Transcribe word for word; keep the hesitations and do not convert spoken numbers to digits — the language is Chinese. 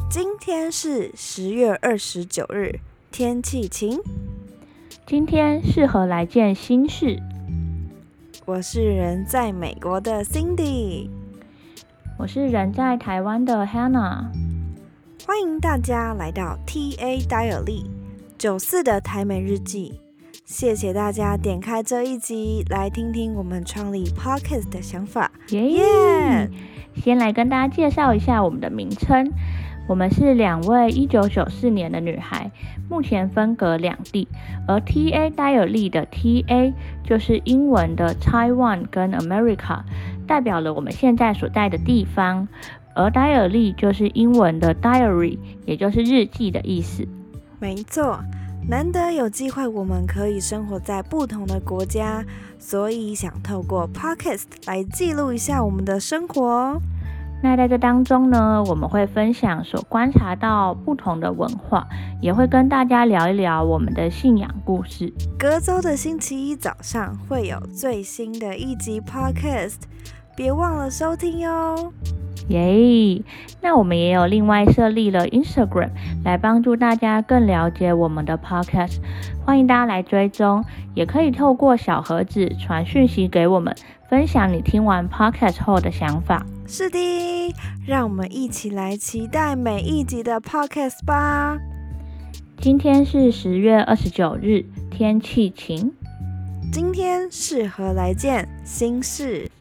今天是十月二十九日，天气晴。 今天适合来件新事。 我是人在美国的 Cindy， 我是人在台湾的 Hannah。 欢迎大家来到 T A Diary 九四的台美日记。谢谢大家点开这一集来听听我们创立 Podcast 的想法。 耶、yeah! yeah! 先来跟大家介绍一下我们的名称。我们是两位一九九四年的女孩，目前分隔两地，而 T A Diary 的 T A 就是英文的 Taiwan 跟 America， 代表了我们现在所在的地方，而 Diary 就是英文的 Diary， 也就是日记的意思。 没错，难得有机会我们可以生活在不同的国家，所以想透过 Podcast 来记录一下我们的生活。 那在这当中呢，我们会分享所观察到不同的文化，也会跟大家聊一聊我们的信仰故事。 隔周的星期一早上会有最新的一集 Podcast， 别忘了收听哟。 耶、yeah! 那我们也有另外设立了 Instagram 来帮助大家更了解我们的 Podcast， 欢迎大家来追踪，也可以透过小盒子传讯息给我们，分享你听完 Podcast 后的想法。 是的，让我们一起来期待每一集的 Podcast 吧。 今天是十月二十九日，天气晴。 今天适合来件新事。